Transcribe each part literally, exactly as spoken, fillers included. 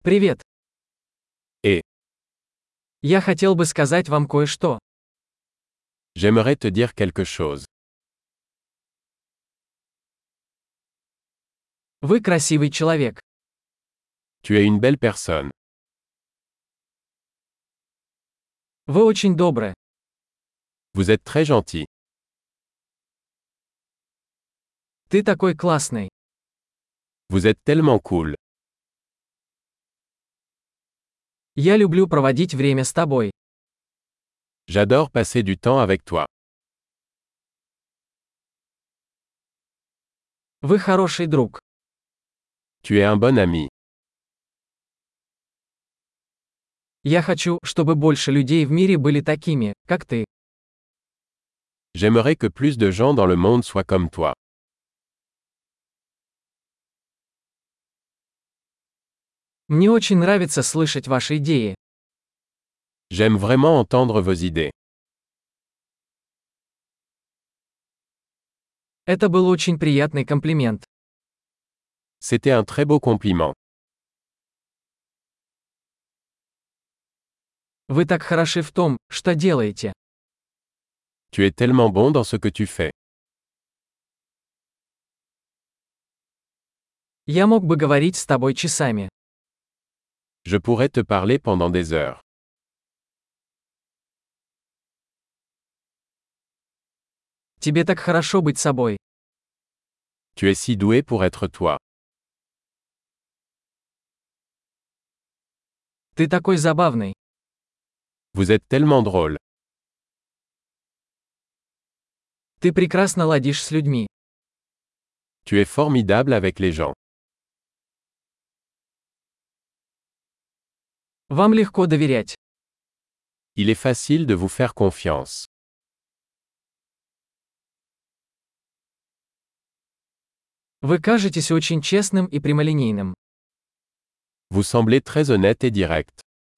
Привет. Et Я хотел бы сказать вам кое-что. j'aimerais te dire quelque chose. Вы красивый человек. Tu es une belle personne. Вы очень добры. Vous êtes très gentil. Ты такой классный. Vous êtes tellement cool. Я люблю проводить время с тобой. J'adore passer du temps avec toi. Вы хороший друг. Tu es un bon ami. Я хочу, чтобы больше людей в мире были такими, как ты. J'aimerais que plus de gens dans le monde soient comme toi. Мне очень нравится слышать ваши идеи. J'aime vraiment entendre vos idées. Это был очень приятный комплимент. C'était un très beau compliment. Вы так хороши в том, что делаете. Tu es tellement bon dans ce que tu fais. Я мог бы говорить с тобой часами. Je pourrais te parler pendant des heures. Тебе так хорошо быть собой. Tu es si doué pour être toi. Ты такой забавный. Vous êtes tellement drôle. Ты прекрасно ладишь с людьми. Tu es formidable avec les gens. Вам легко доверять. Il est facile de vous faire confiance. Вы кажетесь очень честным и прямолинейным. Vous semblez très honnête et direct.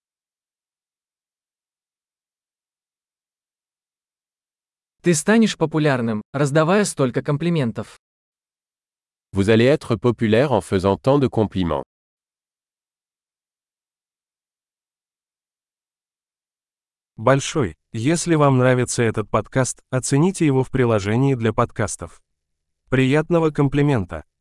Ты станешь популярным, раздавая столько комплиментов. Vous allez être populaire en faisant tant de compliments. Большой. Если вам нравится этот подкаст, оцените его в приложении для подкастов. Приятного комплимента!